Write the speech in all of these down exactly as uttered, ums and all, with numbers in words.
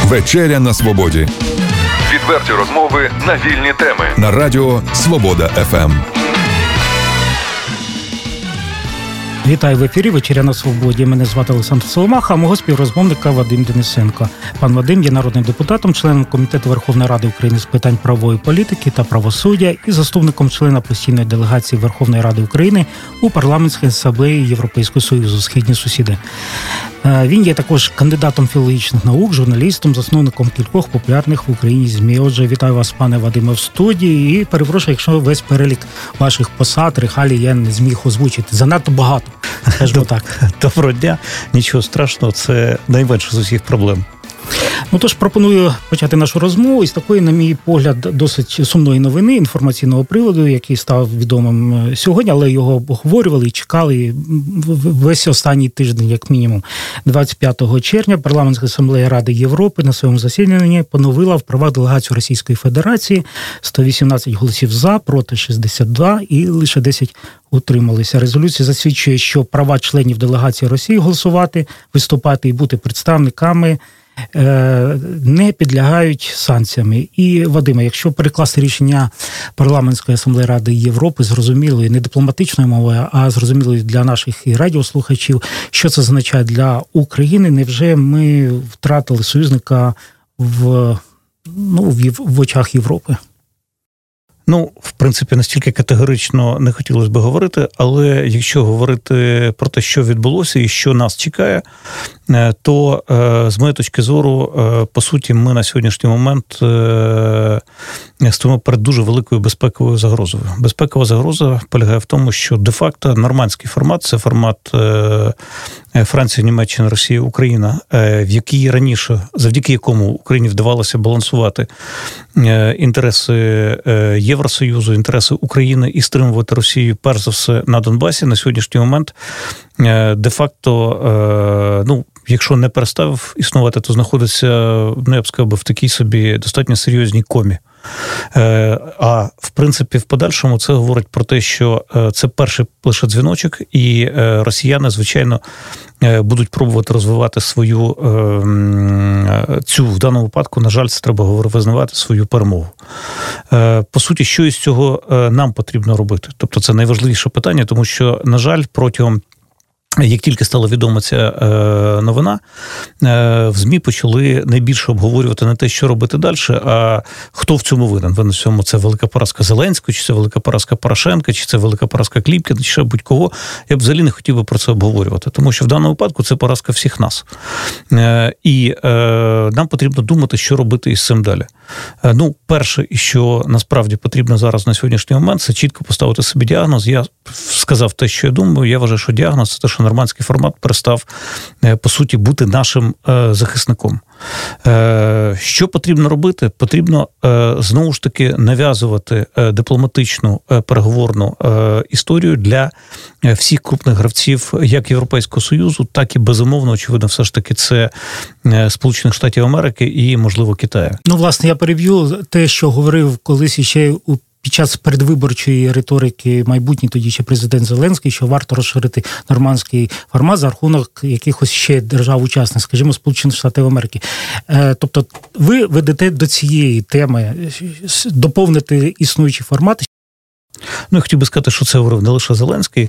Вечеря на свободі. Відверті розмови на вільні теми. На радіо Свобода еф ем. Вітаю в ефірі «Вечеря на свободі». Мене звати Олександр Соломаха, а мого співрозмовника Вадим Денисенко. Пан Вадим є народним депутатом, членом Комітету Верховної Ради України з питань правової політики та правосуддя і заступником члена постійної делегації Верховної Ради України у Парламентській асамблеї Європейського Союзу «Східні сусіди». Він є також кандидатом філологічних наук, журналістом, засновником кількох популярних в Україні ЗМІ. Отже, вітаю вас, пане Вадиме, в студії. І перепрошую, якщо весь перелік ваших посад, регалій я не зміг озвучити. Занадто багато, скажімо так. Доброго дня. Нічого страшного, це найменше з усіх проблем. Ну, тож пропоную почати нашу розмову із такої, на мій погляд, досить сумної новини, інформаційного приводу, який став відомим сьогодні, але його обговорювали і чекали весь останній тиждень, як мінімум. двадцять п'ятого червня Парламентська асамблея Ради Європи на своєму засіданні поновила в правах делегацію Російської Федерації. сто вісімнадцять голосів за, проти шістдесят два і лише десять утрималися. Резолюція засвідчує, що права членів делегації Росії голосувати, виступати і бути представниками не підлягають санкціями. І, Вадиме, якщо перекласти рішення Парламентської асамблеї Ради Європи зрозумілою, не дипломатичною мовою, а зрозумілою для наших і радіослухачів, що це означає для України, невже ми втратили союзника в, ну, в, в очах Європи? Ну, в принципі, настільки категорично не хотілося б говорити, але якщо говорити про те, що відбулося і що нас чекає, то, з моєї точки зору, по суті, ми на сьогоднішній момент стоїмо перед дуже великою безпековою загрозою. Безпекова загроза полягає в тому, що де-факто нормандський формат – це формат Франція, Німеччина, Росія, Україна, в якій раніше, завдяки якому Україні вдавалося балансувати інтереси Євросоюзу, інтереси України і стримувати Росію, перш за все, на Донбасі, на сьогоднішній момент де-факто, ну, якщо не перестав існувати, то знаходиться, ну, я б сказав, в такій собі достатньо серйозній комі. А, в принципі, в подальшому це говорить про те, що це перший лише дзвіночок, і росіяни, звичайно, будуть пробувати розвивати свою, цю, в даному випадку, на жаль, це треба визнавати, свою перемогу. По суті, що із цього нам потрібно робити? Тобто це найважливіше питання, тому що, на жаль, протягом як тільки стала відома ця новина, в ЗМІ почали найбільше обговорювати не те, що робити далі, а хто в цьому винен. Винен в цьому це велика поразка Зеленського, чи це велика поразка Порошенка, чи це велика поразка Кліпкіна, чи ще будь-кого. Я б взагалі не хотів би про це обговорювати, тому що в даному випадку це поразка всіх нас. І нам потрібно думати, що робити із цим далі. Ну, перше, і що насправді потрібно зараз на сьогоднішній момент, це чітко поставити собі діагноз. Я сказав те, що я думаю. Я вважаю, що діагноз – це те, що нормандський формат перестав, по суті, бути нашим захисником. Що потрібно робити? Потрібно, знову ж таки, нав'язувати дипломатичну переговорну історію для всіх крупних гравців як Європейського Союзу, так і, безумовно, очевидно, все ж таки це Сполучених Штатів Америки і, можливо, Китаю. Ну, власне, я переб'ю те, що говорив колись іще у під час передвиборчої риторики майбутній тоді ще президент Зеленський, що варто розширити нормандський формат за рахунок якихось ще держав-учасниць, скажімо, Сполучених Штатів Америки. Тобто ви ведете до цієї теми доповнити існуючі формати? Ну, я хотів би сказати, що це говорив не лише Зеленський.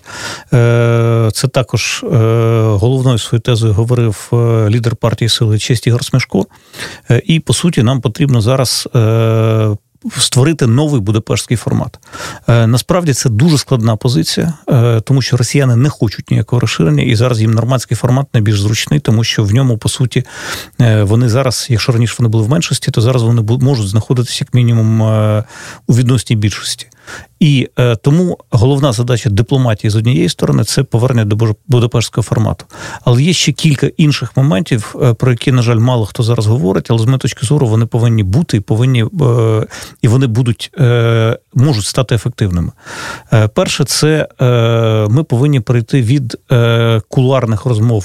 Це також головною своєю тезою говорив лідер партії «Сили і честь» Ігор Смешко. І, по суті, нам потрібно зараз створити новий будапештський формат. Насправді це дуже складна позиція, тому що росіяни не хочуть ніякого розширення, і зараз їм нормандський формат найбільш зручний, тому що в ньому, по суті, вони зараз, якщо раніше вони були в меншості, то зараз вони можуть знаходитися як мінімум у відносній більшості. І е, тому головна задача дипломатії з однієї сторони – це повернення до будапештського формату. Але є ще кілька інших моментів, е, про які, на жаль, мало хто зараз говорить, але з моєї точки зору вони повинні бути і повинні, е, і вони будуть, е, можуть стати ефективними. Е, перше – це е, ми повинні перейти від е, кулуарних розмов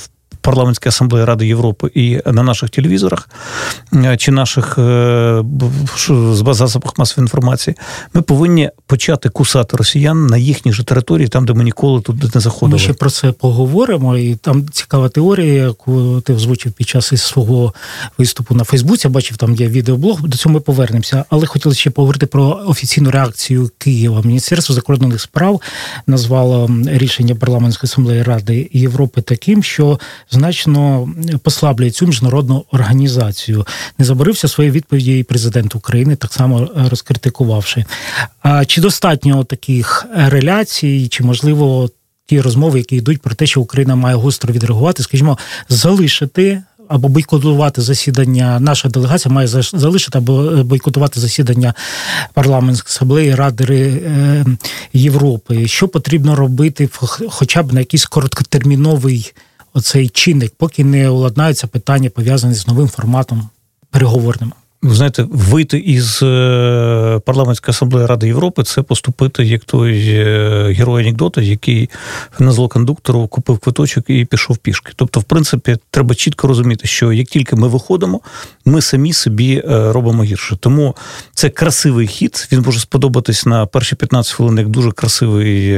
парламентській асамблеї Ради Європи і на наших телевізорах чи наших засобах масової інформації, ми повинні почати кусати росіян на їхній же території, там, де ми ніколи туди не заходили. Ми ще про це поговоримо, і там цікава теорія, яку ти озвучив під час свого виступу на Фейсбуці, я бачив, там є відеоблог, до цього ми повернемося, але хотіли ще поговорити про офіційну реакцію Києва. Міністерство закордонних справ назвало рішення парламентської асамблеї Ради Європи таким, що значно послаблює цю міжнародну організацію. Не забарився своєї відповіді і президент України, так само розкритикувавши. А чи достатньо таких реляцій, чи, можливо, ті розмови, які йдуть про те, що Україна має гостро відреагувати, скажімо, залишити або бойкотувати засідання, наша делегація має залишити або бойкотувати засідання парламентської асамблеї Ради Європи. Що потрібно робити хоча б на якийсь короткотерміновий оцей чинник, поки не уладнаються питання, пов'язані з новим форматом переговорним? Ви знаєте, вийти із парламентської асамблеї Ради Європи – це поступити як той герой анекдота, який на зло кондуктору купив квиточок і пішов пішки. Тобто, в принципі, треба чітко розуміти, що як тільки ми виходимо, ми самі собі робимо гірше. Тому це красивий хід, він може сподобатись на перші п'ятнадцять хвилин як дуже красивий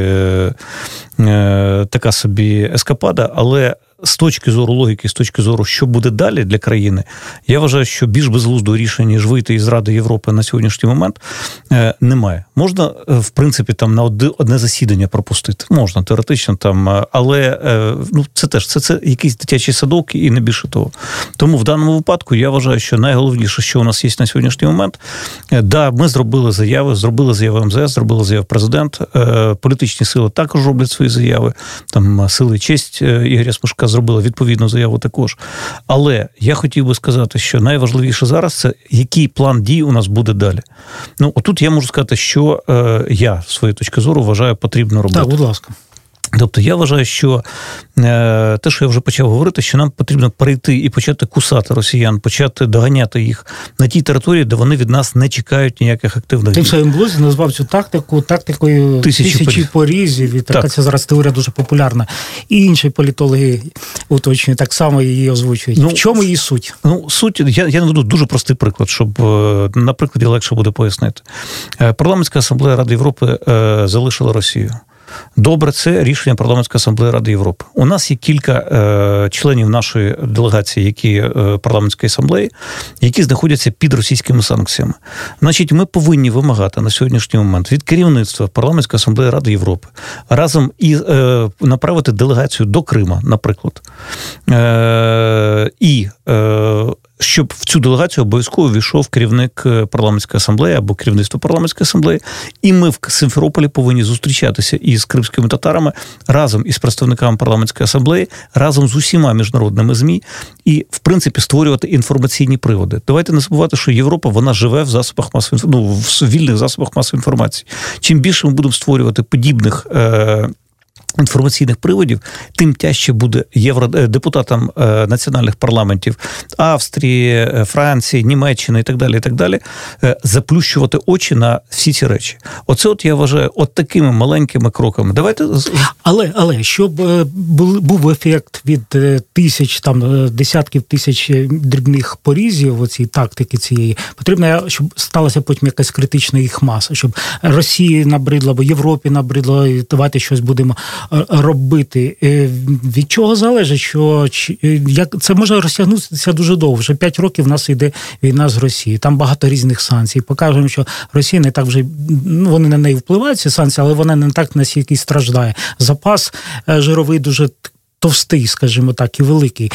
така собі ескапада, але з точки зору логіки, з точки зору, що буде далі для країни, я вважаю, що більш безглуздого рішення, ніж вийти із Ради Європи на сьогоднішній момент, немає. Можна, в принципі, там на одне засідання пропустити. Можна, теоретично, там, але ну, це теж, це, це якийсь дитячий садок і не більше того. Тому в даному випадку я вважаю, що найголовніше, що у нас є на сьогоднішній момент, да, ми зробили заяви, зробили заяви ем зе ес, зробили заяви президент, політичні сили також роблять свої заяви, там сили і честь Ігоря Смешка зробила відповідну заяву також. Але я хотів би сказати, що найважливіше зараз – це який план дій у нас буде далі. Ну, отут я можу сказати, що е, я, з своєї точки зору, вважаю, потрібно робити. Так, будь ласка. Тобто я вважаю, що е, те, що я вже почав говорити, що нам потрібно перейти і почати кусати росіян, почати доганяти їх на тій території, де вони від нас не чекають ніяких активних дій. Ти в своєму блозі назвав цю тактику тактикою тисячі, тисячі порізів, і така ця зараз теорія дуже популярна. І інші політологи уточнюють, так само її озвучують. Ну, в чому її суть? Ну, суть, я, я наведу дуже простий приклад, щоб на прикладі легше буде пояснити. Парламентська асамблея Ради Європи е, залишила Росію. Добре, це рішення парламентської асамблеї Ради Європи. У нас є кілька е, членів нашої делегації, які е, парламентської асамблеї, які знаходяться під російськими санкціями. Значить, ми повинні вимагати на сьогоднішній момент від керівництва парламентської асамблеї Ради Європи разом і е, направити делегацію до Крима, наприклад, е, і е, щоб в цю делегацію обов'язково війшов керівник парламентської асамблеї або керівництво парламентської асамблеї, і ми в Симферополі повинні зустрічатися із кримськими татарами разом із представниками парламентської асамблеї, разом з усіма міжнародними ЗМІ і, в принципі, створювати інформаційні приводи. Давайте не забувати, що Європа, вона живе в засобах масової, ну, в вільних засобах масової інформації. Чим більше ми будемо створювати подібних е- інформаційних приводів, тим тяжче буде євродепутатам національних парламентів Австрії, Франції, Німеччини і так далі, і так далі, заплющувати очі на всі ці речі. Оце от я вважаю, от такими маленькими кроками. Давайте... Але, але, щоб був ефект від тисяч, там, десятків тисяч дрібних порізів, оцій тактики цієї, потрібно, щоб сталася потім якась критична їх маса, щоб Росії набридло, або Європі набридло, і давайте щось будемо робити. Від чого залежить, що як це може розтягнутися дуже довго. Вже п'ять років в нас йде війна з Росією. Там багато різних санкцій. Покажемо, що Росія не так вже, ну, вони на неї впливають, ці санкції, але вона не так настільки страждає. Запас жировий дуже товстий, скажімо так, і великий.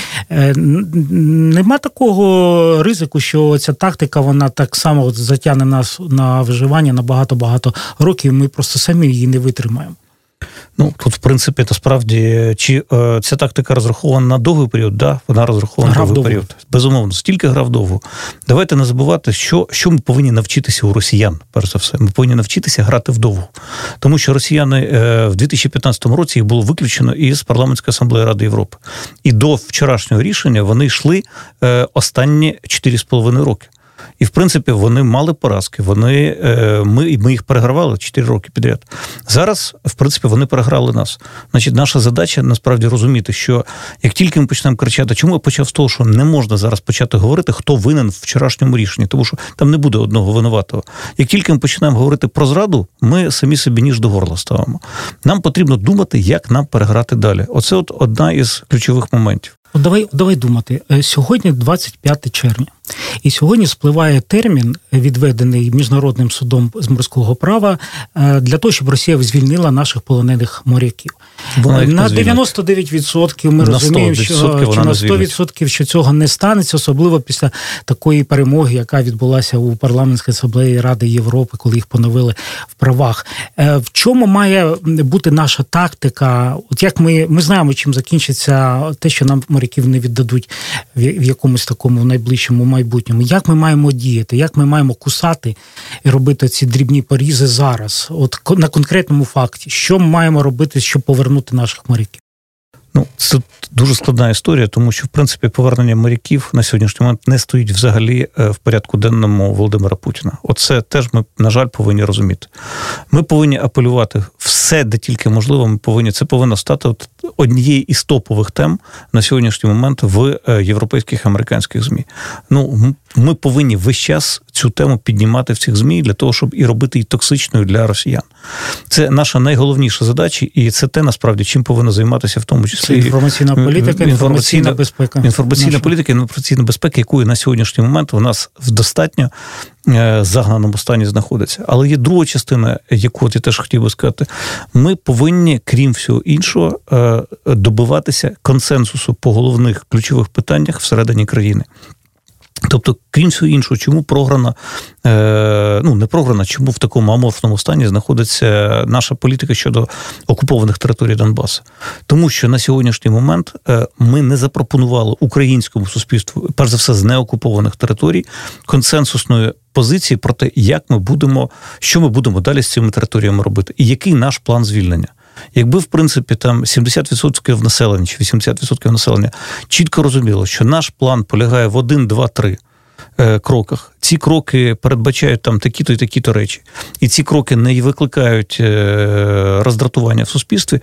Нема такого ризику, що ця тактика, вона так само затягне нас на виживання на багато-багато років, ми просто самі її не витримаємо. Ну, тут, в принципі, насправді, чи е, ця тактика розрахована на довгий період? Да, вона розрахована на довгий період. Безумовно, стільки грав довго. Давайте не забувати, що, що ми повинні навчитися у росіян, перш за все. Ми повинні навчитися грати вдовго. Тому що росіяни е, в дві тисячі п'ятнадцятому році їх було виключено із парламентської асамблеї Ради Європи. І до вчорашнього рішення вони йшли е, останні чотири з половиною роки. І, в принципі, вони мали поразки. Вони, ми, ми їх перегравали чотири роки підряд. Зараз, в принципі, вони переграли нас. Значить, наша задача, насправді, розуміти, що як тільки ми почнемо кричати, чому я почав з того, що не можна зараз почати говорити, хто винен в вчорашньому рішенні, тому що там не буде одного винуватого. Як тільки ми починаємо говорити про зраду, ми самі собі ніж до горла ставимо. Нам потрібно думати, як нам переграти далі. Оце от одна із ключових моментів. От давай, давай думати. Сьогодні двадцять п'яте червня. І сьогодні спливає термін, відведений Міжнародним судом з морського права, для того, щоб Росія звільнила наших полонених моряків. На дев'яносто дев'ять відсотків ми на розуміємо, що, що на сто відсотків що цього не станеться, особливо після такої перемоги, яка відбулася у парламентській асамблеї Ради Європи, коли їх поновили в правах. В чому має бути наша тактика? От як ми, ми знаємо, чим закінчиться те, що нам моряків не віддадуть в якомусь такому найближчому майбутньому. Як ми маємо діяти? Як ми маємо кусати і робити ці дрібні порізи зараз? От на конкретному факті. Що ми маємо робити, щоб повернути наших моряків? Ну, це дуже складна історія, тому що, в принципі, повернення моряків на сьогоднішній момент не стоїть взагалі в порядку денному Володимира Путіна. Оце теж ми, на жаль, повинні розуміти. Ми повинні апелювати все, де тільки можливо, ми повинні, це повинно стати от однією із топових тем на сьогоднішній момент в європейських, американських ЗМІ. Ну, ми повинні весь час цю тему піднімати в цих ЗМІ для того, щоб і робити її токсичною для росіян. Це наша найголовніша задача, і це те, насправді, чим повинно займатися в тому числі. Це інформаційна політика, інформаційна безпека. Інформаційна наша. політика, інформаційна безпека, якої на сьогоднішній момент у нас в достатньо загнаному стані знаходиться. Але є друга частина, яку я теж хотів би сказати. Ми повинні, крім всього іншого, добиватися консенсусу по головних ключових питаннях всередині країни. Тобто, крім всього іншого, чому програна, ну, не програна, чому в такому аморфному стані знаходиться наша політика щодо окупованих територій Донбасу? Тому що на сьогоднішній момент ми не запропонували українському суспільству, перш за все, з неокупованих територій, консенсусної позиції про те, як ми будемо, що ми будемо далі з цими територіями робити, і який наш план звільнення. Якби, в принципі, там сімдесят відсотків населення чи вісімдесят відсотків населення чітко розуміло, що наш план полягає в один, два, три кроках. Ці кроки передбачають там такі-то і такі-то речі. І ці кроки не викликають роздратування в суспільстві.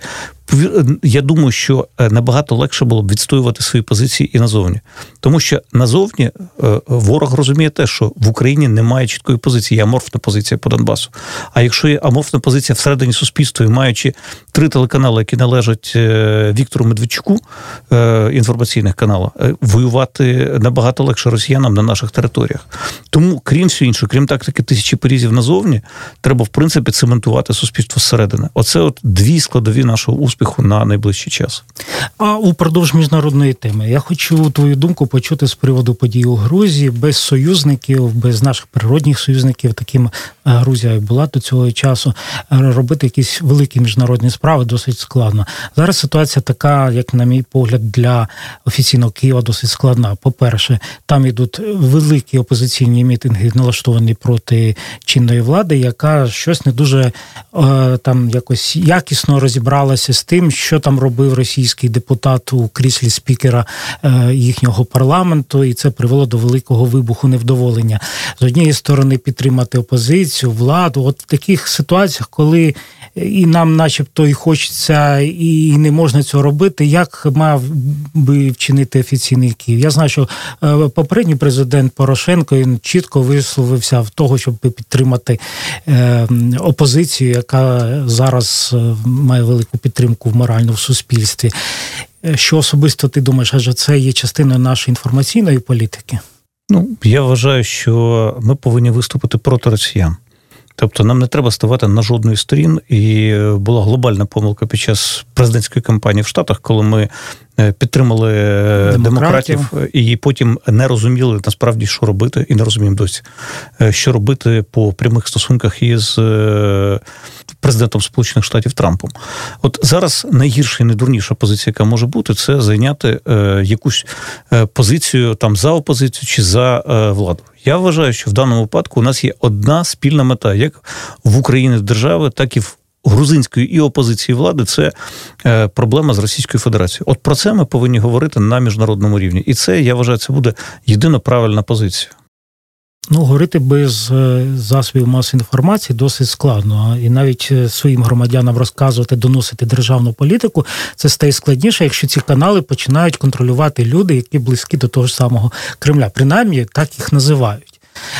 Я думаю, що набагато легше було б відстоювати свої позиції і назовні. Тому що назовні ворог розуміє те, що в Україні немає чіткої позиції, є аморфна позиція по Донбасу. А якщо є аморфна позиція всередині суспільства, і маючи три телеканали, які належать Віктору Медведчуку, інформаційних каналів, воювати набагато легше росіянам на наших територіях. Тому, крім всього іншого, крім тактики тисячі порізів назовні, треба, в принципі, цементувати суспільство зсередини. Оце от дві складові нашого успіху на найближчий час. А упродовж міжнародної теми я хочу твою думку почути з приводу подій у Грузії. Без союзників, без наших природних союзників, таким Грузія була до цього часу, робити якісь великі міжнародні справи досить складно. Зараз ситуація така, як на мій погляд, для офіційного Києва досить складна. По-перше, там йдуть великі опозиційні мітинги, налаштовані проти чинної влади, яка щось не дуже там якось якісно розібралася з тим, що там робив російський депутат у кріслі спікера їхнього парламенту, і це привело до великого вибуху невдоволення. З однієї сторони підтримати опозицію, владу. От в таких ситуаціях, коли і нам начебто і хочеться, і не можна цього робити, як мав би вчинити офіційний Київ? Я знаю, що попередній президент Порошенко він чітко висловився в того, щоб підтримати опозицію, яка зараз має велику підтримку в моральному суспільстві. Що особисто ти думаєш, адже це є частиною нашої інформаційної політики? Ну, я вважаю, що ми повинні виступити проти росіян. Тобто нам не треба ставати на жодної сторін, і була глобальна помилка під час президентської кампанії в Штатах, коли ми підтримали демократів. демократів і потім не розуміли насправді, що робити, і не розуміємо досі, що робити по прямих стосунках із президентом Сполучених Штатів Трампом. От зараз найгірша і найдурніша позиція, яка може бути, це зайняти якусь позицію там за опозицію чи за владу. Я вважаю, що в даному випадку у нас є одна спільна мета, як в Україні держави, так і в грузинської і опозиції влади, це проблема з Російською Федерацією. От про це ми повинні говорити на міжнародному рівні. І це, я вважаю, це буде єдина правильна позиція. Ну, говорити без засобів масової інформації досить складно. І навіть своїм громадянам розказувати, доносити державну політику, це стає складніше, якщо ці канали починають контролювати люди, які близькі до того ж самого Кремля. Принаймні, так їх називають.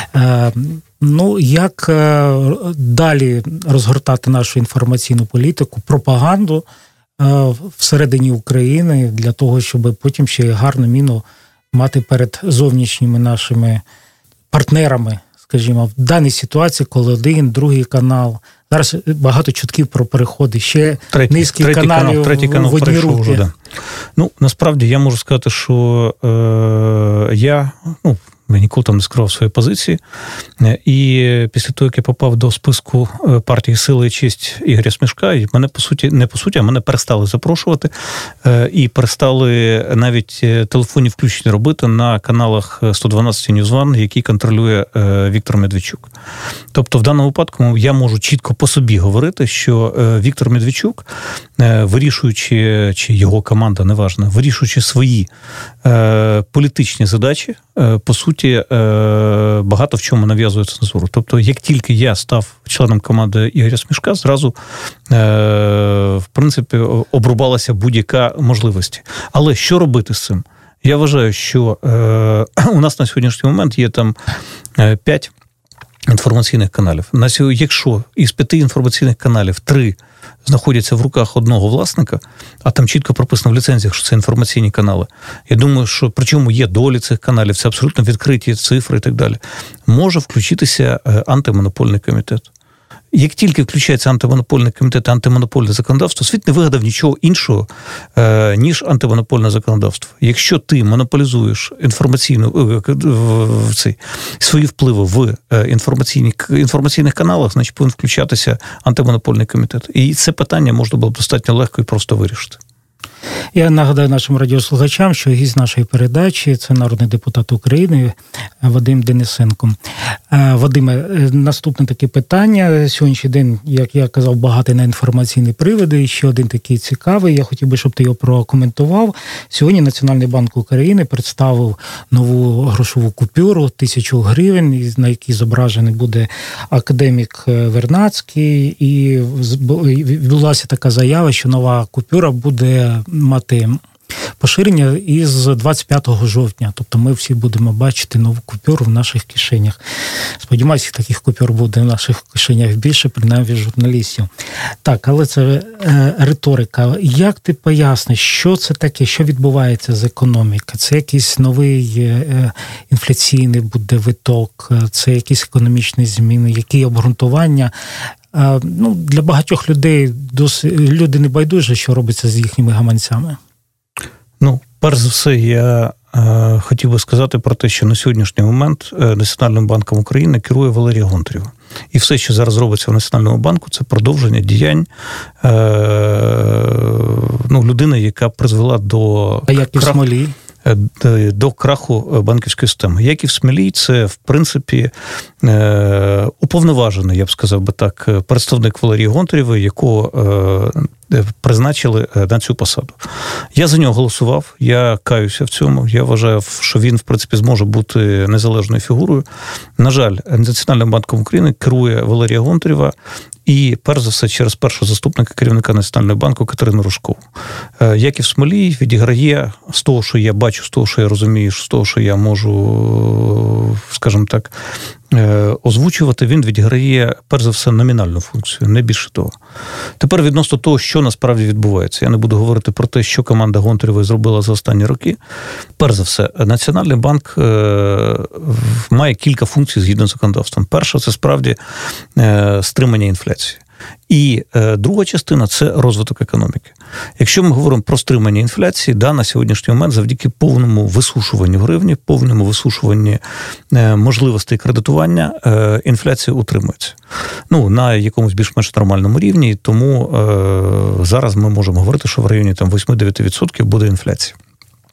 Ну, як далі розгортати нашу інформаційну політику, пропаганду всередині України для того, щоб потім ще гарну міну мати перед зовнішніми нашими партнерами, скажімо, в даній ситуації, коли один, другий канал. Зараз багато чутків про переходи. Ще третій, низки третій каналів канал, третій канал в одні руки. Вже, да. Ну, насправді, я можу сказати, що е, я, ну, я ніколи там не скривав свої позиції. І після того, як я попав до списку партії «Сила і честь» Ігоря Смішка, мене, по суті, не по суті, а мене перестали запрошувати і перестали навіть телефонні включення робити на каналах сто дванадцять Ньюз Ван, який контролює Віктор Медведчук. Тобто, в даному випадку я можу чітко по собі говорити, що Віктор Медведчук, вирішуючи, чи його команда, неважно, вирішуючи свої політичні задачі, по суті, багато в чому нав'язує цензуру. Тобто, як тільки я став членом команди Ігоря Смішка, зразу, в принципі, обрубалася будь-яка можливість. Але що робити з цим? Я вважаю, що у нас на сьогоднішній момент є там п'ять інформаційних каналів. На сьогодні, якщо із п'яти інформаційних каналів три знаходяться в руках одного власника, а там чітко прописано в ліцензіях, що це інформаційні канали. Я думаю, що причому є долі цих каналів, це абсолютно відкриті цифри і так далі. Може включитися антимонопольний комітет. Як тільки включається антимонопольний комітет і антимонопольне законодавство, світ не вигадав нічого іншого, ніж антимонопольне законодавство. Якщо ти монополізуєш інформаційну, цей, свої впливи в інформаційні, інформаційних каналах, значить повинен включатися антимонопольний комітет. І це питання можна було б достатньо легко і просто вирішити. Я нагадаю нашим радіослухачам, що гість нашої передачі – це народний депутат України Вадим Денисенко. Вадиме, наступне таке питання. Сьогоднішній день, як я казав, багатий на інформаційні приводи. І ще один такий цікавий. Я хотів би, щоб ти його прокоментував. Сьогодні Національний банк України представив нову грошову купюру, тисячу гривень, на якій зображений буде академік Вернадський. І відбулася така заява, що нова купюра буде мати поширення із двадцять п'ятого жовтня. Тобто ми всі будемо бачити нову купюру в наших кишенях. Сподіваюся, таких купюр буде в наших кишенях більше, принаймні журналістів. Так, але це е, риторика. Як ти поясниш, що це таке, що відбувається з економікою? Це якийсь новий е, інфляційний буде виток, це якісь економічні зміни, які обґрунтування? Е, ну, для багатьох людей досить, люди не байдужі, що робиться з їхніми гаманцями. Ну, перш за все, я е, хотів би сказати про те, що на сьогоднішній момент Національним банком України керує Валерія Гонтарєва. І все, що зараз робиться в Національному банку, це продовження діянь е, ну, людини, яка призвела до... А як і в Смолі? До краху банківської системи. Як і в Смілі, це, в принципі, уповноважений, я б сказав би так, представник Валерії Гонтарєвої, якого призначили на цю посаду. Я за нього голосував, я каюся в цьому, я вважаю, що він, в принципі, зможе бути незалежною фігурою. На жаль, Національним банком України керує Валерія Гонтарєва, і, перш за все, через першого заступника керівника Національного банку Катерину Рожкову. Як і в Смолі, відіграє з того, що я бачу, з того, що я розумію, з того, що я можу, скажімо так, озвучувати, він відіграє, перш за все, номінальну функцію, не більше того. Тепер відносно того, що насправді відбувається. Я не буду говорити про те, що команда Гонтарєвої зробила за останні роки. Перш за все, Національний банк має кілька функцій згідно з законодавством. Перша – це справді стримання інфляції. І е, друга частина – це розвиток економіки. Якщо ми говоримо про стримання інфляції, да, на сьогоднішній момент завдяки повному висушуванню гривні, повному висушуванню е, можливостей кредитування, е, інфляція утримується. Ну, на якомусь більш-менш нормальному рівні, тому е, зараз ми можемо говорити, що в районі там вісім-дев'ять відсотків буде інфляція.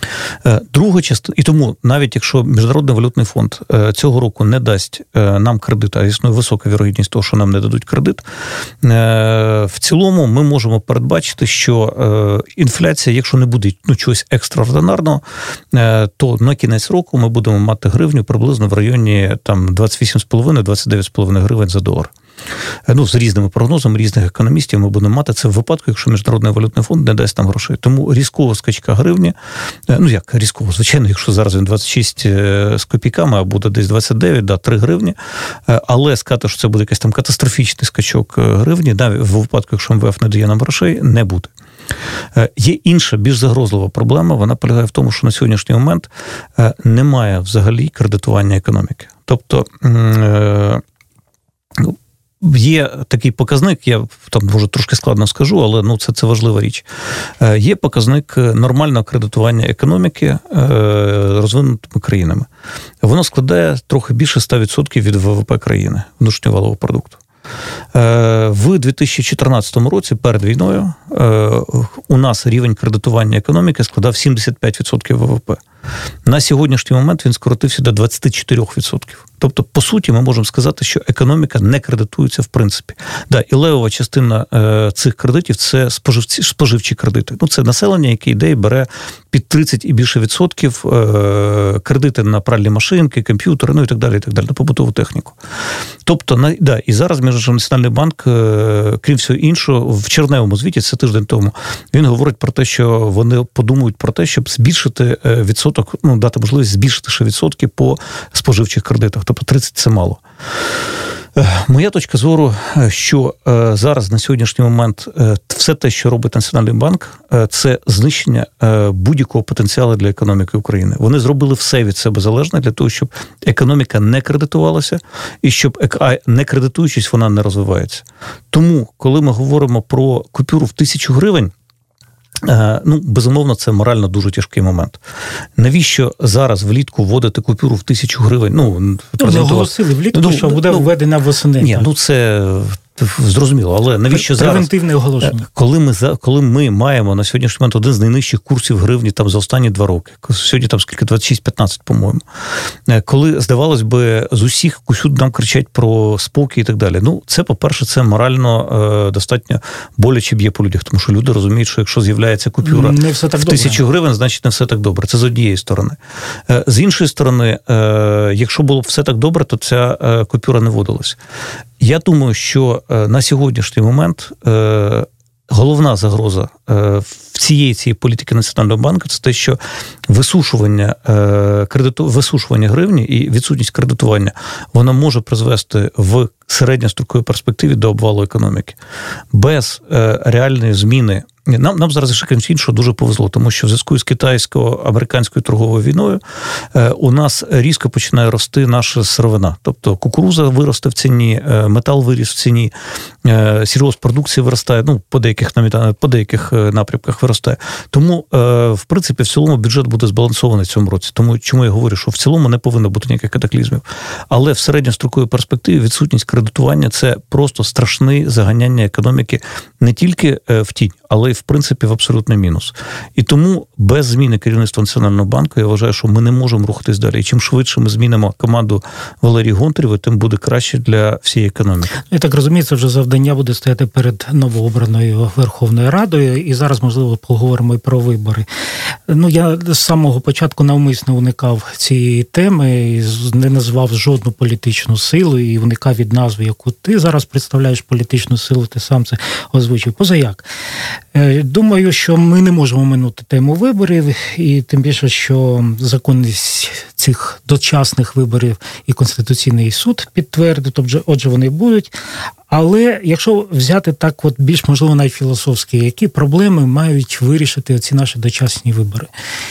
Друга частина, і тому навіть якщо Міжнародний валютний фонд цього року не дасть нам кредит, а існує висока вірогідність того, що нам не дадуть кредит, в цілому ми можемо передбачити, що інфляція, якщо не буде ну, чогось екстраординарного, то на кінець року ми будемо мати гривню приблизно в районі там двадцять вісім з половиною - двадцять дев'ять з половиною гривень за долар. Ну, з різними прогнозами різних економістів ми будемо мати це в випадку, якщо Міжнародний валютний фонд не дасть нам грошей. Тому різкова скачка гривні, ну як різково, звичайно, якщо зараз він двадцять шість з копійками, а буде десь двадцять дев'ять, да, три гривні, але сказати, що це буде якийсь там катастрофічний скачок гривні, да, в випадку, якщо ем ве еф не дає нам грошей, не буде. Є інша, більш загрозлива проблема, вона полягає в тому, що на сьогоднішній момент немає взагалі кредитування економіки. Тобто, є такий показник, я там, може, трошки складно скажу, але ну, це, це важлива річ. Є показник нормального кредитування економіки розвинутими країнами. Воно складає трохи більше ста відсотків від ве ве пе країни, внутрішнього валового продукту. В дві тисячі чотирнадцятому році, перед війною, у нас рівень кредитування економіки складав сімдесят п'ять відсотків ве ве пе. На сьогоднішній момент він скоротився до двадцять чотири відсотки. Тобто, по суті, ми можемо сказати, що економіка не кредитується в принципі. Да, і левова частина е, цих кредитів – це споживці, споживчі кредити. Ну, це населення, яке йде і бере під тридцять і більше відсотків е, кредити на пральні машинки, комп'ютери, ну і так далі, і так далі, на побутову техніку. Тобто, на, да, і зараз Національний банк, е, крім всього іншого, в червневому звіті, це тиждень тому, він говорить про те, що вони подумають про те, щоб збільшити відсоток, ну, дати можливість збільшити ще відсотки по споживчих кредитах. Тобто тридцять – це мало. Моя точка зору, що зараз на сьогоднішній момент все те, що робить Національний банк, це знищення будь-якого потенціалу для економіки України. Вони зробили все від себе залежне для того, щоб економіка не кредитувалася і щоб, не кредитуючись, вона не розвивається. Тому, коли ми говоримо про купюру в тисячу гривень, ну, безумовно, це морально дуже тяжкий момент. Навіщо зараз влітку вводити купюру в тисячу гривень? Ну, вони оголосили влітку, ну, що буде ну, введена восени. Ні, ну це зрозуміло, але навіщо зараз? Превентивне оголошення. Коли ми, коли ми маємо на сьогоднішній момент один з найнижчих курсів гривні там за останні два роки, сьогодні там скільки, двадцять шість п'ятнадцять, по-моєму, коли, здавалось би, з усіх усюди нам кричать про спокій і так далі. Ну, це, по-перше, це морально е, достатньо боляче б'є по людях, тому що люди розуміють, що якщо з'являється купюра в тисячу гривень, значить не все так добре. Це з однієї сторони. Е, з іншої сторони, е, якщо було б все так добре, то ця е, купюра не вводилась. Я думаю, що на сьогоднішній момент головна загроза в цієї цієї політики Національного банку – це те, що висушування, кредиту, висушування гривні і відсутність кредитування, вона може призвести в середньостроковій перспективі до обвалу економіки. Без реальної зміни. Нам, нам зараз, ще крім іншого, дуже повезло, тому що в зв'язку з китайсько-американською торговою війною е, у нас різко починає рости наша сировина. Тобто кукуруза виросте в ціні, е, метал виріс в ціні, е, сільгосппродукція виростає, ну, по деяких, по деяких напрямках виростає. Тому, е, в принципі, в цілому бюджет буде збалансований в цьому році. Тому чому я говорю, що в цілому не повинно бути ніяких катаклізмів. Але в середньостроковій перспективі відсутність кредитування – це просто страшне заганяння економіки не тільки в тінь, але й, в принципі, в абсолютний мінус. І тому без зміни керівництва Національного банку, я вважаю, що ми не можемо рухатись далі. І чим швидше ми змінимо команду Валерії Гонтаревої, тим буде краще для всієї економіки. Я так розумію, це вже завдання буде стояти перед новообраною Верховною Радою, і зараз, можливо, поговоримо і про вибори. Ну, я з самого початку навмисно уникав цієї теми, не назвав жодну політичну силу, і уникав від назви, яку ти зараз представляєш політичну силу, ти сам це озвучив. Позаяк. Думаю, що ми не можемо минути тему виборів, і тим більше, що законність цих дочасних виборів і Конституційний суд підтвердив, тобто, отже, вони будуть. Але якщо взяти так от більш, можливо, навіть філософськи, які проблеми мають вирішити ці наші дочасні вибори?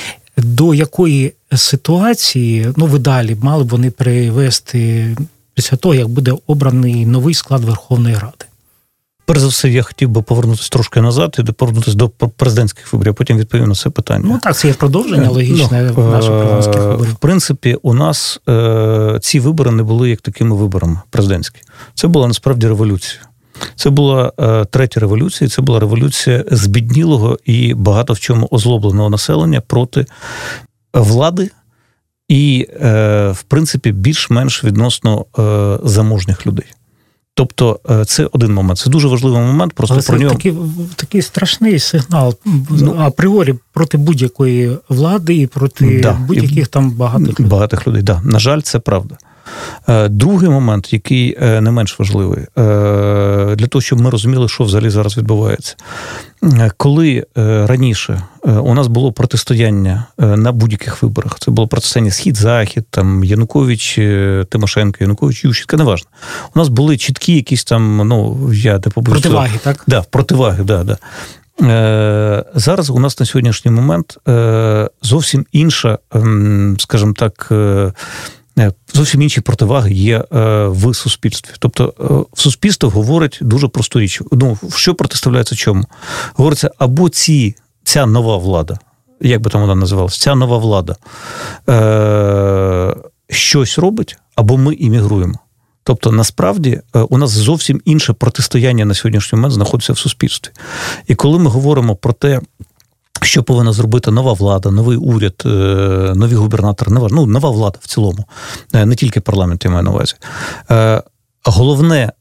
До якої ситуації, ну, ви далі мали б вони привести після того, як буде обраний новий склад Верховної Ради? Перш за все, я хотів би повернутися трошки назад і повернутися до президентських виборів, а потім відповім на це питання. Ну так, це є продовження логічне ну, наших президентських виборів. В принципі, у нас е- ці вибори не були як такими виборами президентські. Це була насправді революція. Це була е, третя революція, це була революція збіднілого і багато в чому озлобленого населення проти влади і, е, в принципі, більш-менш відносно е, заможних людей. Тобто це один момент. Це дуже важливий момент. Просто Але про це нього... такий, такий страшний сигнал ну, апріорі проти будь-якої влади і проти да, будь-яких там багатих, багатих людей. Да. На жаль, це правда. Другий момент, який не менш важливий, для того, щоб ми розуміли, що взагалі зараз відбувається. Коли раніше у нас було протистояння на будь-яких виборах, це було протистояння Схід-Захід, там Янукович, Тимошенко, Янукович, Ющенко, неважно. У нас були чіткі якісь там, ну, я не побоюсь... Противаги, так? Да, противаги, да, да. Зараз у нас на сьогоднішній момент зовсім інша, скажімо так, зовсім інші противаги є в суспільстві. Тобто в суспільство говорить дуже просту річ. Ну, що протиставляється чому? Говориться, або ці, ця нова влада, як би там вона називалася, ця нова влада е- щось робить, або ми іммігруємо. Тобто, насправді, у нас зовсім інше протистояння на сьогоднішній момент знаходиться в суспільстві. І коли ми говоримо про те, що повинна зробити нова влада, новий уряд, нові губернатори, ну, нова влада в цілому, не тільки парламент, я маю на увазі. Головне,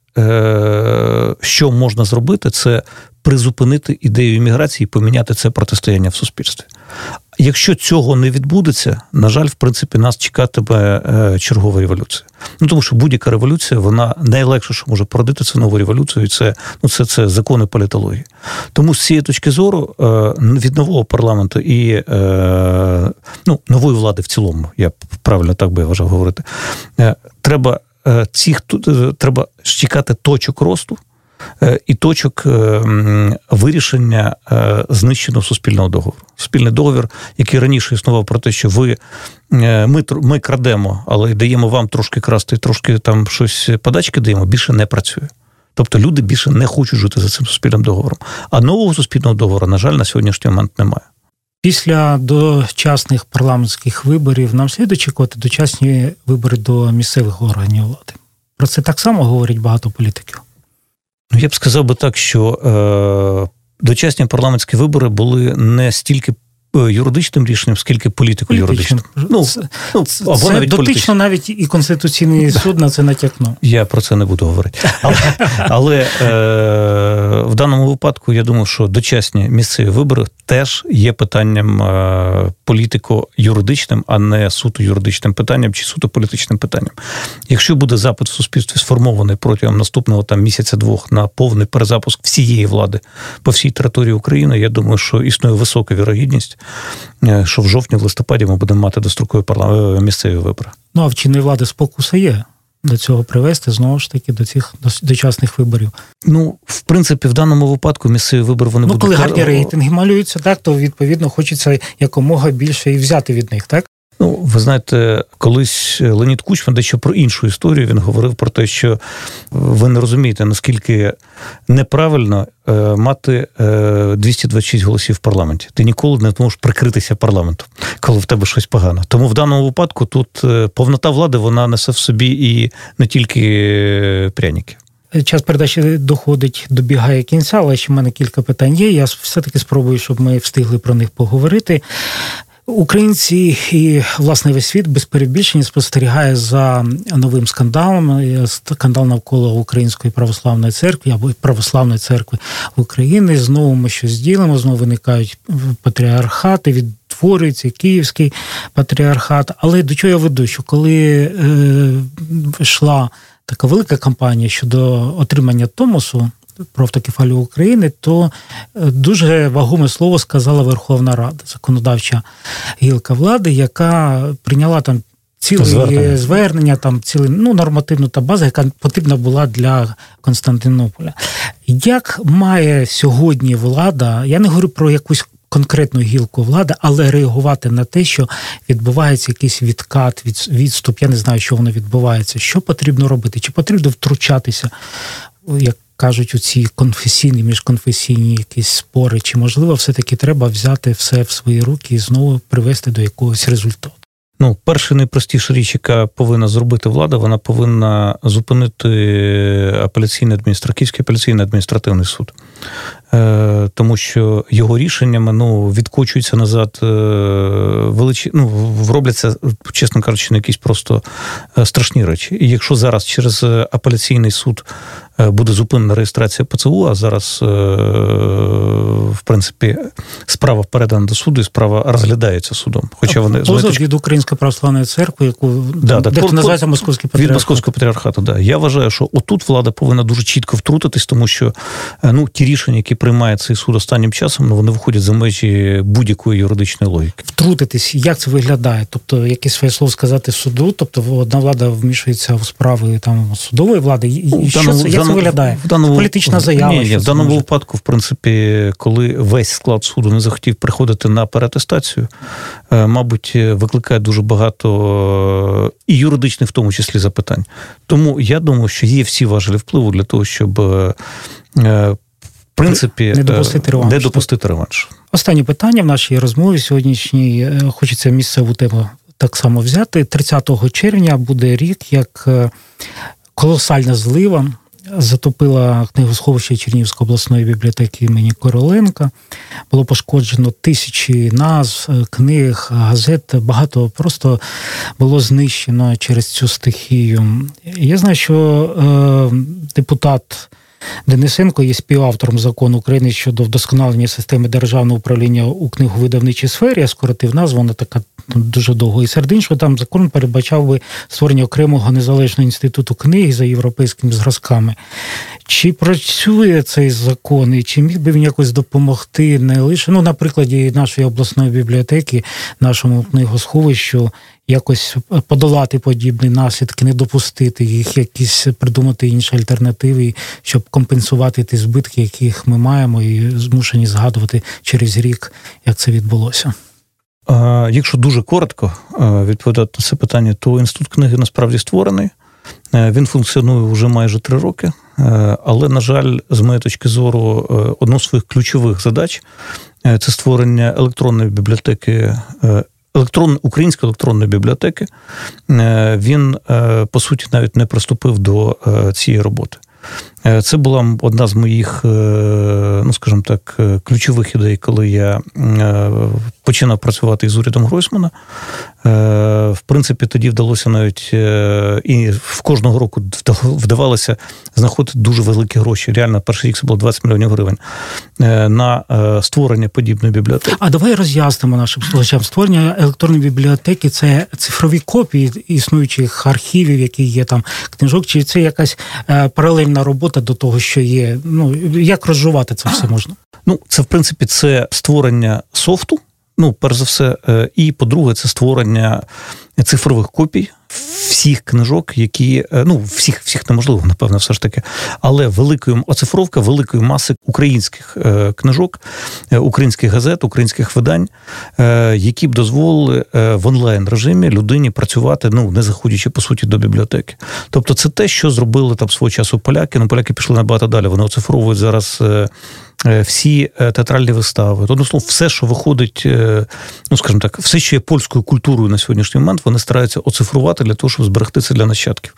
що можна зробити, це призупинити ідею імміграції і поміняти це протистояння в суспільстві. Якщо цього не відбудеться, на жаль, в принципі, нас чекатиме чергова революція. Ну, тому що будь-яка революція, вона найлегше, що може породити, це нову революцію, і це, ну, це, це закони політології. Тому з цієї точки зору від нового парламенту і ну, нової влади в цілому, я правильно так би вважав говорити, треба, цих, треба чекати точок росту, і точок вирішення знищеного суспільного договору. Суспільний договір, який раніше існував про те, що ви, ми, ми крадемо, але даємо вам трошки красти, трошки там щось подачки даємо, більше не працює. Тобто люди більше не хочуть жити за цим суспільним договором. А нового суспільного договору, на жаль, на сьогоднішній момент немає. Після дочасних парламентських виборів нам слід очікувати дочасні вибори до місцевих органів влади. Про це так само говорять багато політиків. Ну, я б сказав би так, що е, дочасні парламентські вибори були не стільки юридичним рішенням, скільки політико-юридичним. Ну, це, ну, або це навіть дотично політичним. навіть і Конституційний суд на це натякнув. Я про це не буду говорити. Але, але е, в даному випадку, я думаю, що дочасні місцеві вибори теж є питанням е, політико-юридичним, а не суто юридичним питанням чи суто політичним питанням. Якщо буде запит в суспільстві сформований протягом наступного там місяця-двох на повний перезапуск всієї влади по всій території України, я думаю, що існує висока вірогідність, що в жовтні, в листопаді ми будемо мати дострокові парламент... місцеві вибори. Ну, а в чинної влади спокуса є до цього привести, знову ж таки, до цих дочасних виборів. Ну, в принципі, в даному випадку місцеві вибори вони ну, будуть... Ну, коли гарні рейтинги малюються, так, то, відповідно, хочеться якомога більше і взяти від них, так? Ну, ви знаєте, колись Леонід Кучма дещо про іншу історію, він говорив про те, що ви не розумієте, наскільки неправильно е, мати е, двісті двадцять шість голосів в парламенті. Ти ніколи не зможеш прикритися парламентом, коли в тебе щось погано. Тому в даному випадку тут е, повнота влади, вона несе в собі і не тільки пряники. Час передачі доходить, добігає кінця, але ще в мене кілька питань є. Я все-таки спробую, щоб ми встигли про них поговорити. Українці і, власне, весь світ без перебільшення спостерігає за новим скандалом. Скандал навколо Української православної церкви або православної церкви України. Знову ми щось ділимо, знову виникають патріархати, відтворюється Київський патріархат. Але до чого я веду, що коли е, йшла така велика кампанія щодо отримання Томосу про автокефалію України, то дуже вагоме слово сказала Верховна Рада, законодавча гілка влади, яка прийняла там ціле звернення, звернення там ціле, ну, нормативну та базу, яка потрібна була для Константинополя. Як має сьогодні влада, я не говорю про якусь конкретну гілку влади, але реагувати на те, що відбувається якийсь відкат, відступ, я не знаю, що воно відбувається, що потрібно робити, чи потрібно втручатися, як кажуть, у ці конфесійні, міжконфесійні якісь спори, чи, можливо, все-таки треба взяти все в свої руки і знову привести до якогось результату? Ну, перша найпростіша річ, яка повинна зробити влада, вона повинна зупинити апеляційний адміністративний, Київський апеляційний адміністративний суд. Е, тому що його рішеннями, ну, відкочуються назад е, величі, ну, робляться, чесно кажучи, на якісь просто страшні речі. І якщо зараз через апеляційний суд буде зупинена реєстрація ПЦУ, а зараз, в принципі, справа передана до суду і справа розглядається судом. Хоча вони позов точки... від Української православної церкви, яку да, дехто да, називається Московський патріархат. Від Московського патріархату, да. Я вважаю, що отут влада повинна дуже чітко втрутитись, тому що, ну, ті рішення, які приймає цей суд останнім часом, ну, вони виходять за межі будь-якої юридичної логіки. Втрутитись, як це виглядає? Тобто, якесь своє слово сказати суду, тобто одна влада вмішується в справи там судової влади, і що це, як це виглядає? В даному, політична заява? Ні, ні, в даному випадку, в принципі, коли весь склад суду не захотів приходити на переатестацію, мабуть, викликає дуже багато і юридичних, в тому числі, запитань. Тому я думаю, що є всі важелі впливу для того, щоб, в принципі, не допустити реванш. Не допустити реванш. Останнє питання в нашій розмові сьогоднішній. Хочеться місцеву тему так само взяти. тридцятого червня буде рік, як колосальна злива затопила книгосховище Чернігівської обласної бібліотеки імені Короленка. Було пошкоджено тисячі назв, книг, газет. Багато просто було знищено через цю стихію. Я знаю, що е, депутат Денисенко є співавтором закону України щодо вдосконалення системи державного управління у книговидавничій сфері. Я скоротив назву, вона така дуже довго. І серед іншого, там закон передбачав би створення окремого незалежного інституту книги за європейськими зразками. Чи працює цей закон, і чи міг би він якось допомогти не лише, ну, на прикладі нашої обласної бібліотеки, нашому книгосховищу, якось подолати подібні наслідки, не допустити їх, якісь придумати інші альтернативи, щоб компенсувати ті збитки, яких ми маємо, і змушені згадувати через рік, як це відбулося? Якщо дуже коротко відповідати на це питання, то інститут книги насправді створений. Він функціонує вже майже три роки, але, на жаль, з моєї точки зору, одну з своїх ключових задач – це створення електронної бібліотеки, електрон, української електронної бібліотеки. Він, по суті, навіть не приступив до цієї роботи. Це була одна з моїх, ну, скажімо так, ключових ідей, коли я починав працювати із урядом Гройсмана. В принципі, тоді вдалося навіть, і в кожного року вдавалося знаходити дуже великі гроші. Реально, перший рік це було двадцять мільйонів гривень на створення подібної бібліотеки. А давай роз'яснимо нашим слухачам. Створення електронної бібліотеки – це цифрові копії існуючих архівів, які є там, книжок, чи це якась паралельна робота до того, що є? Ну, як розжувати це все можна? Ну, це, в принципі, це створення софту, ну, перш за все, і, по-друге, це створення цифрових копій всіх книжок, які, ну, всіх, всіх неможливо, напевно, все ж таки, але великої, оцифровка великої маси українських книжок, українських газет, українських видань, які б дозволили в онлайн-режимі людині працювати, ну, не заходячи, по суті, до бібліотеки. Тобто це те, що зробили там свого часу поляки, ну, поляки пішли набагато далі, вони оцифровують зараз всі театральні вистави. Тобто, ну, все, що виходить, ну, скажімо так, все, що є польською культурою на сьогоднішній момент, вони стараються оцифрувати для того, щоб зберегти це для нащадків.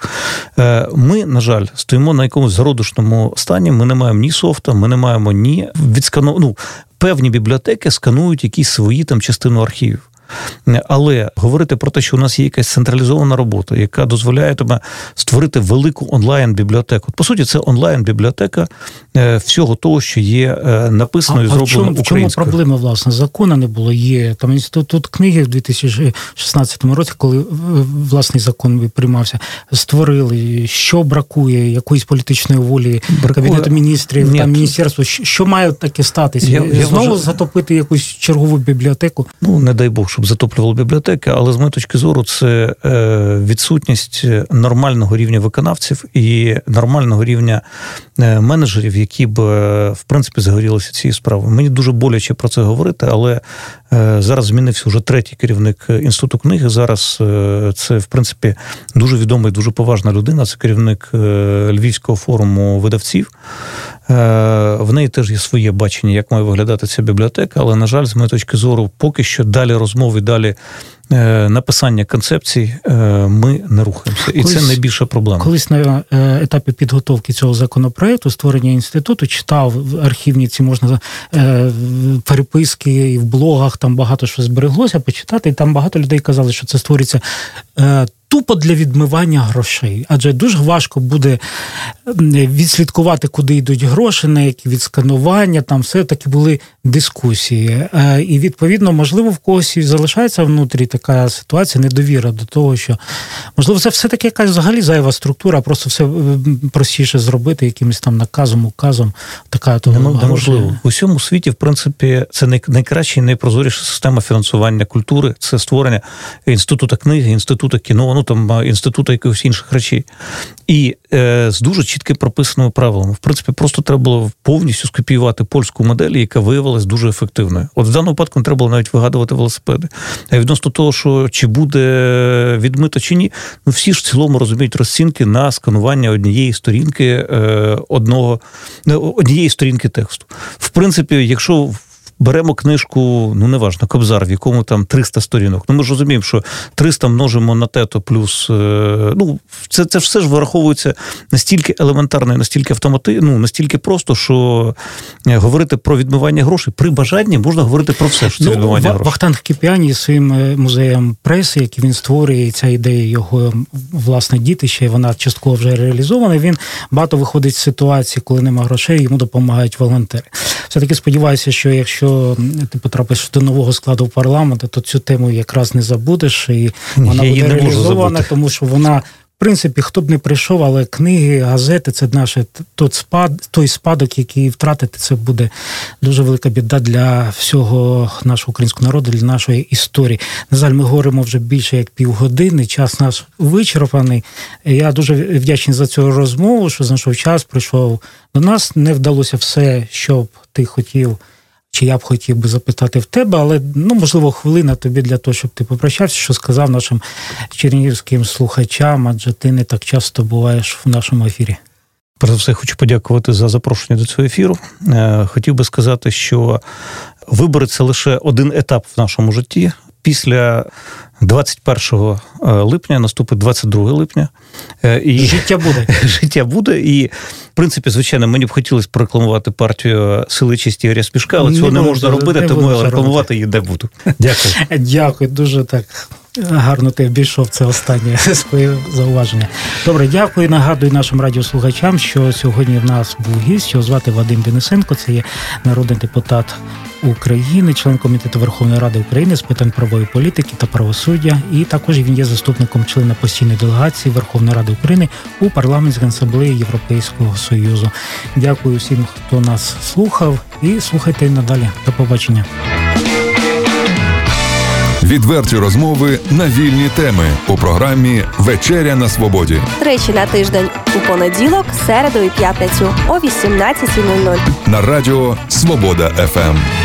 Ми, на жаль, стоїмо на якомусь зародишному стані, ми не маємо ні софта, ми не маємо ні відскану... Ну, певні бібліотеки сканують якісь свої там частину архівів. Але говорити про те, що у нас є якась централізована робота, яка дозволяє тобі створити велику онлайн-бібліотеку. По суті, це онлайн-бібліотека всього того, що є написано і зроблено українською. В чому проблема, власне? Закону не було. Є там інститут книги в дві тисячі шістнадцятому році, коли власний закон приймався, створили. Що бракує? Якоїсь політичної волі бракує. Кабінету міністрів, там міністерства? Що має таке статися? Я, я Знову вважаю... затопити якусь чергову бібліотеку? Ну, не дай Бог, щоб затоплювали бібліотеки, але з моєї точки зору це відсутність нормального рівня виконавців і нормального рівня менеджерів, які б, в принципі, загорілися цією справою. Мені дуже боляче про це говорити, але зараз змінився вже третій керівник Інституту книги. Зараз це, в принципі, дуже відома і дуже поважна людина. Це керівник Львівського форуму видавців. В неї теж є своє бачення, як має виглядати ця бібліотека, але, на жаль, з моєї точки зору, поки що далі розмови, далі написання концепцій ми не рухаємося. І колись, це найбільша проблема. Колись на етапі підготовки цього законопроекту, створення інституту, читав архівні ці можна переписки і в блогах, там багато що збереглося почитати, і там багато людей казали, що це створюється тупо для відмивання грошей. Адже дуже важко буде відслідкувати, куди йдуть гроші, на які відсканування, там все-таки були дискусії. І, відповідно, можливо, в когось і залишається внутрі така ситуація, недовіра до того, що, можливо, це все-таки якась взагалі зайва структура, просто все простіше зробити якимось там наказом, указом. Така то неможливо. В усьому світі, в принципі, це найкраща і найпрозоріша система фінансування культури, це створення інституту книги, інституту кіно, ну там інституту якихось інших речей. І е, з дуже чітко прописаними правилами. В принципі, просто треба було повністю скопіювати польську модель, яка виявилась дуже ефективною. От в даному випадку не треба було навіть вигадувати велосипеди. А відносно того, що чи буде відмито, чи ні, ну всі ж в цілому розуміють розцінки на сканування однієї сторінки е, одного, однієї сторінки тексту. В принципі, якщо беремо книжку, ну, неважно, Кобзар, в якому там триста сторінок. Ну, ми ж розуміємо, що триста множимо на те, то плюс... Ну, це, це все ж вираховується настільки елементарно, настільки автомати, ну, настільки просто, що говорити про відмивання грошей при бажанні можна говорити про все, що це ну, відмивання грошей. Вахтанг Кіпіані своїм музеєм преси, який він створює, ця ідея його, власне, дітища, і вона частково вже реалізована, він багато виходить з ситуації, коли нема грошей, йому допомагають волонтери. Все-таки сподіваюся, що якщо ти потрапиш до нового складу парламенту, то цю тему якраз не забудеш, і вона Я буде реалізована, тому що вона, в принципі, хто б не прийшов, але книги, газети, це наш той спад, той спадок, який втратити, це буде дуже велика біда для всього нашого українського народу, для нашої історії. На жаль, ми говоримо вже більше як півгодини, час наш вичерпаний. Я дуже вдячний за цю розмову, що знайшов час, прийшов до нас. Не вдалося все, що б ти хотів, чи я б хотів би запитати в тебе, але, ну, можливо, хвилина тобі для того, щоб ти попрощався, що сказав нашим чернігівським слухачам, адже ти не так часто буваєш в нашому ефірі. Перш за все, хочу подякувати за запрошення до цього ефіру. Хотів би сказати, що вибори – це лише один етап в нашому житті. Після двадцять першого липня наступить двадцять другого липня. І життя буде. Життя буде. І, в принципі, звичайно, мені б хотілося прорекламувати партію «Сили честі Ігоря Смішка», але цього не, не можна робити, не тому я рекламувати її не буду. Дякую. Дякую. Дуже так гарно ти обійшов це останнє своє зауваження. Добре, дякую. Нагадую нашим радіослухачам, що сьогодні в нас був гість, його звати Вадим Денисенко, це є народний депутат України, член Комітету Верховної Ради України з питань правової політики та правосуддя, і також він є заступником члена постійної делегації Верховної Ради України у Парламентській асамблеї Європейського Союзу. Дякую всім, хто нас слухав, і слухайте надалі. До побачення. Відверті розмови на вільні теми у програмі «Вечеря на свободі». Тричі на тиждень у понеділок, середу і п'ятницю о вісімнадцятій нуль нуль. На радіо «Свобода еф ем».